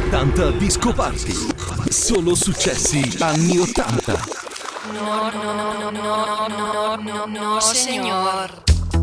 80 Disco Party. Solo successi anni 80. No, señor.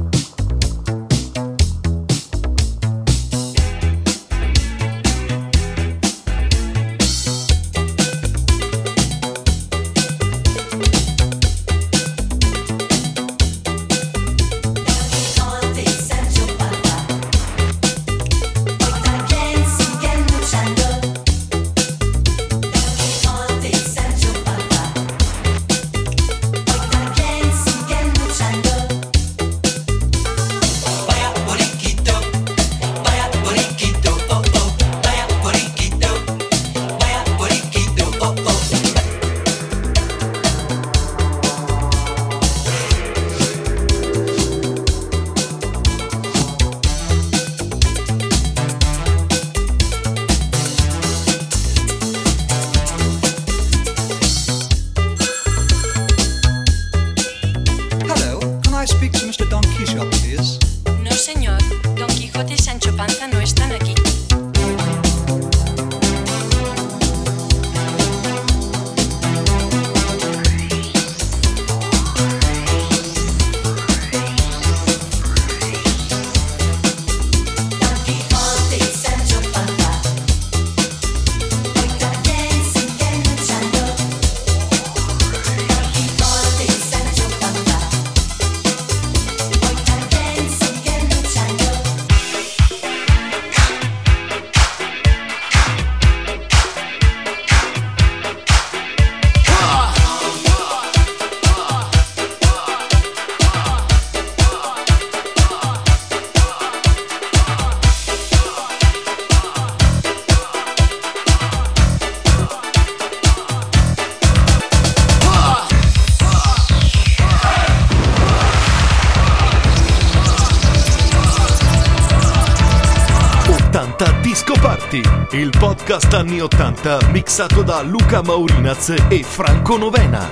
Disco Party, il podcast anni 80 mixato da Luca Maurinaz e Franco Novena.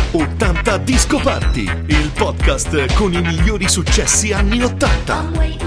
80 Disco Party, il podcast con i migliori successi anni 80.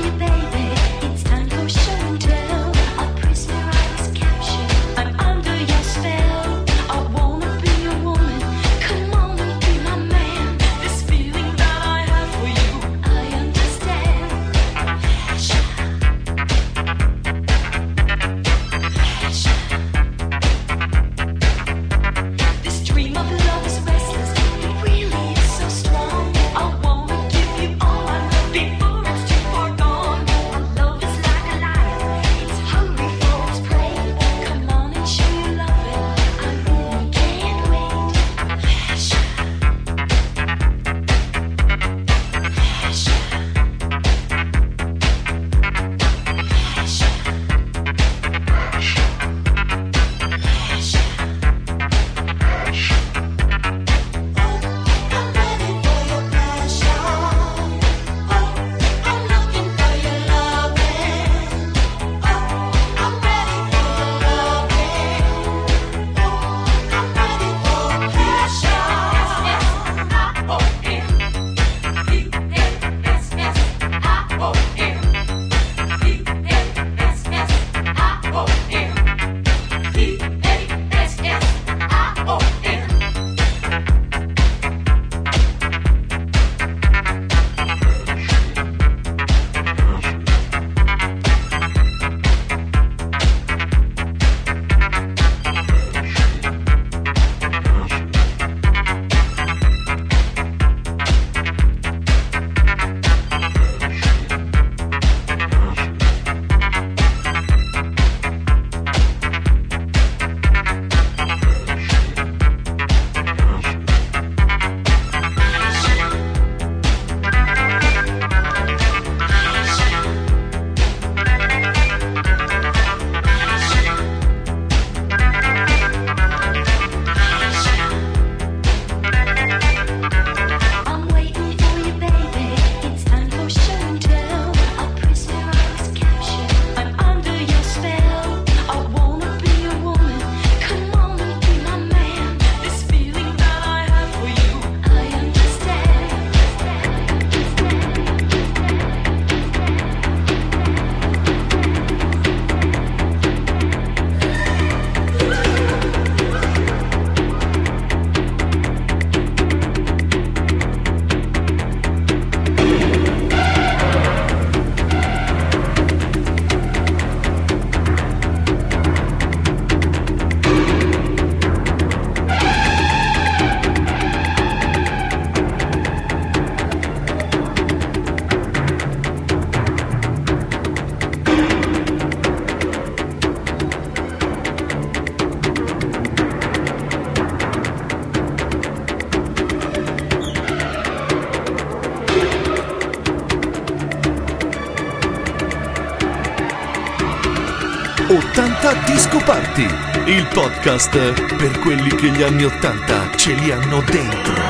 Disco Party, il podcast per quelli che gli anni 80 ce li hanno dentro.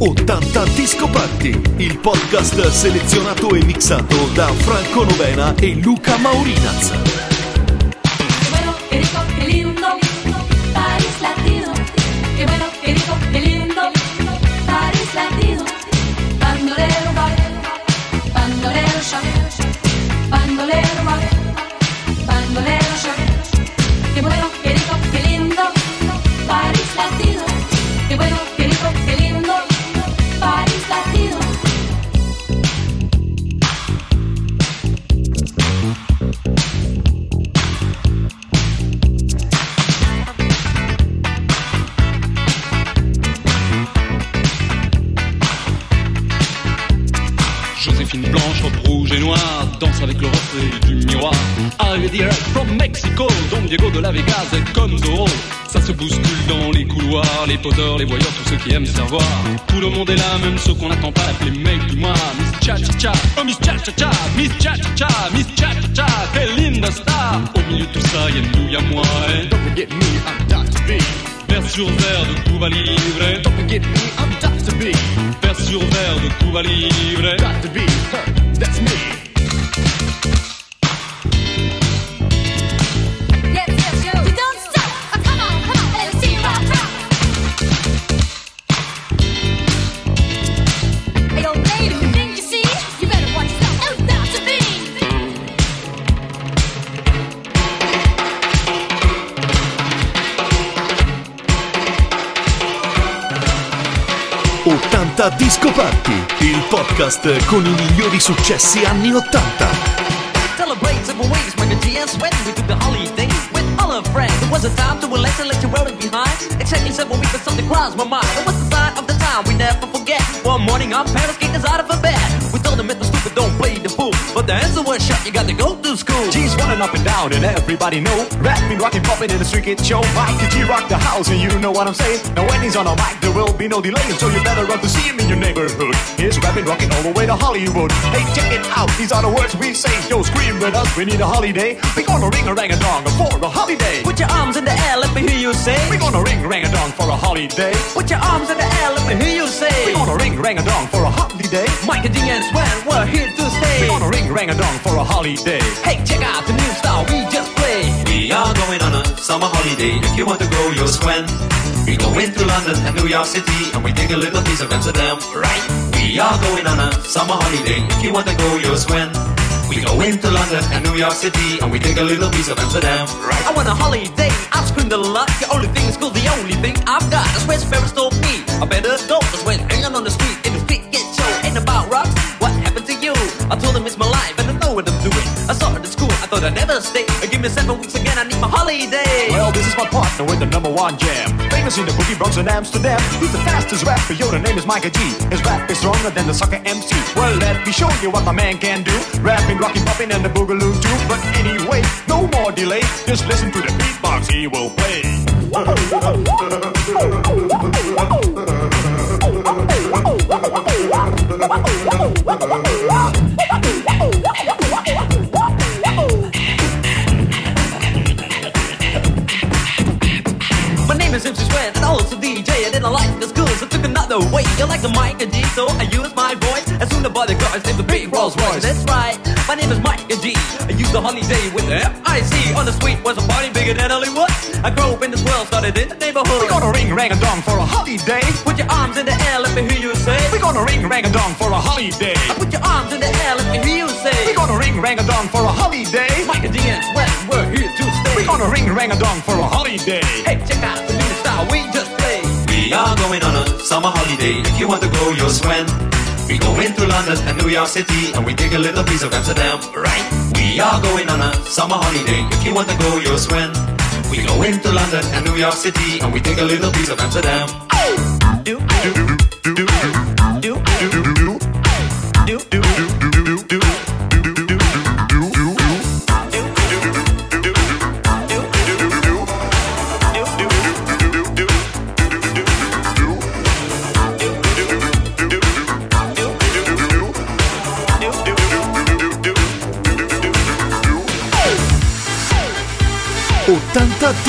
80 Disco Party, il podcast selezionato e mixato da Franco Novena e Luca Maurinaz. Bueno, qué rico, qué lindo, Paris Latino. Qué bueno, qué rico, qué lindo, Paris Latino. Bandolero va, bandolero ya, bandolero va, bandolero ya. Qué bueno, qué rico, qué lindo, Paris Latino. Qué bueno, qué rico, qué lindo, Paris Latino. Joséphine Blanche, robe rouge et noire, danse avec le reflet du miroir. Arrivé direct from Mexico, Don Diego de la Vegas est comme Zorro. Ça se bouscule dans les couloirs, les poseurs, les voyeurs, tous ceux qui aiment se revoir. Tout le monde est là, même ceux qu'on n'attend pas, les mecs du mois. Miss Cha-Cha-Cha, oh Miss Cha-Cha-Cha, Miss Cha-Cha-Cha, Miss Cha-Cha-Cha, quelle linda star. Au milieu de tout ça, y'a nous, y'a moi, hein. Don't forget me, I'm Dr. B. Vers sur verre de Cuba Libre. Don't forget me, I'm Dr. B. Vers sur verre de Cuba Libre. Dr. B, that's me. Yes, yes, yo. You don't stop. Oh, come on, let's see you rock, rock. Hey, old lady, didn't you see? You better watch yourself. Oh, Dr. B. 80 Disco Party, il podcast con i migliori successi anni 80. Celebrate several ways, Michael G. and Sweat. We took the holiday with all our friends. It was a time to relax and let you roll it behind. Exactly 7 weeks, but something crossed my mind. It was the sign of the time we never forget. One morning, our parents kicked us out of bed. We told them it was stupid, don't play the fool. But the answer was shut, you got to go to school. G's running up and down and everybody know. Rapping, rocking, popping in the street kid show. Mike G rock the house and you know what I'm saying. Now when he's on a mic there will be no delay. So you better run to see him in your neighborhood. He's rapping, rocking all the way to Hollywood. Hey, check it out, these are the words we say. Yo, scream with us, we need a holiday. We gonna ring a rang a dong for a holiday. Put your arms in the air, let me hear you say. We gonna ring rang a dong for a holiday. Put your arms in the air, let me hear you say. We gonna ring rang a dong for a holiday. Michael G. and Sweat, we're here to stay. We gonna ring rang a dong for a holiday. Hey, check out the new style we just played. We are going on a summer holiday. If you want to go, you'll swim. We go into London and New York City, and we take a little piece of Amsterdam, right? We are going on a summer holiday. If you want to go, you'll swim. We go into London and New York City, and we take a little piece of Amsterdam, right? I want a holiday, I've screamed a lot. The only thing is cool, the only thing I've got. That's where Ferris told me I better go. That's when hanging on the street in the street get show. Ain't about rocks, what happened to you? I told him it's my life and I know what I'm doing. I saw it at school, I thought I'd never stay. Give me 7 weeks again, I need my holiday. Well, this is my partner with the #1 jam. Famous in the boogie Bronx and Amsterdam. He's the fastest rapper, yo, the name is Michael G. His rap is stronger than the sucker MC. Well, let me show you what my man can do. Rapping, rocking, popping, and the boogaloo too. But anyway, no more delay. Just listen to the beatbox he will play. My name is MC Sweat and also DJ. I didn't like the school, so took another way. You like the Michael G, so I used my voice. As soon as the cars named the big Rolls Royce. That's right, my name is Michael G. I used the holiday with the F-I-C. On the street was a party bigger than Hollywood. I grew up in this world, started in the neighborhood. We gonna ring rang a dong for a holiday. Put your arms in the air, let me hear you say. We gonna ring rang a dong for a holiday. Put your arms in the air, let me hear you say. We gonna ring rang a dong for a holiday. Michael G and Sweat, we're here to stay. We gonna ring rang a dong for a holiday. Hey, check out the new style we just played. We are going on a summer holiday. If you want to go, you'll swim. We go into London and New York City, and we take a little piece of Amsterdam, right? We are going on a summer holiday. If you want to go, you'll swim. We go into London and New York City, and we take a little piece of Amsterdam. Do,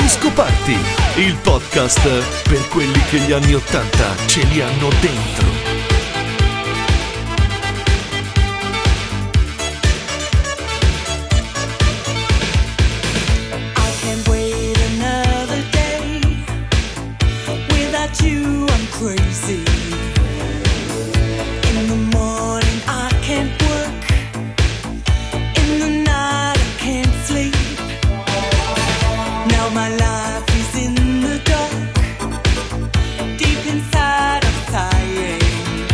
Disco Party, il podcast per quelli che gli anni 80 ce li hanno dentro. You, I'm crazy. In the morning I can't work. In the night I can't sleep. Now my life is in the dark. Deep inside I'm sighing.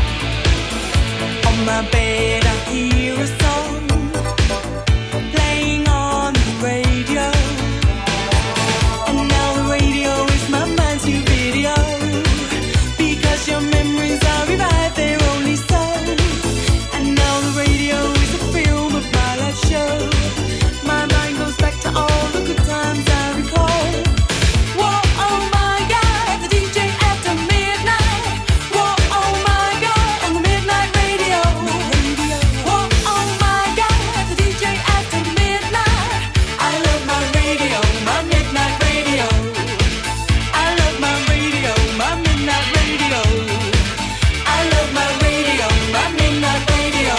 On my bed I hear a song playing on the radio. And now the radio is my mind's new video. Your memories are revived, they're only so. And now the radio is a film of my life show. My mind goes back to all the good times I recall. Whoa, oh my God, the DJ after midnight. Whoa, oh my God, on the midnight radio. Whoa, oh my God, the DJ after midnight. I love my radio, my midnight radio. I love my radio, my midnight radio. I love my radio, my midnight radio.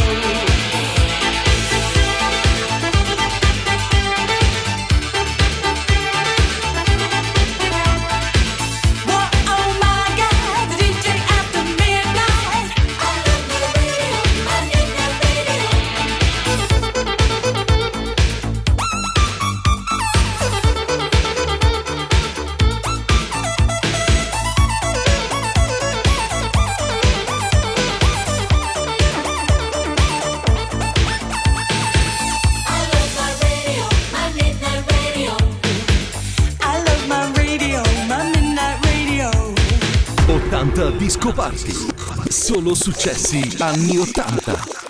Whoa, oh my God, the DJ after midnight. I love my radio, my midnight radio. I love my radio, my midnight radio. 80 Disco Party, solo successi anni 80.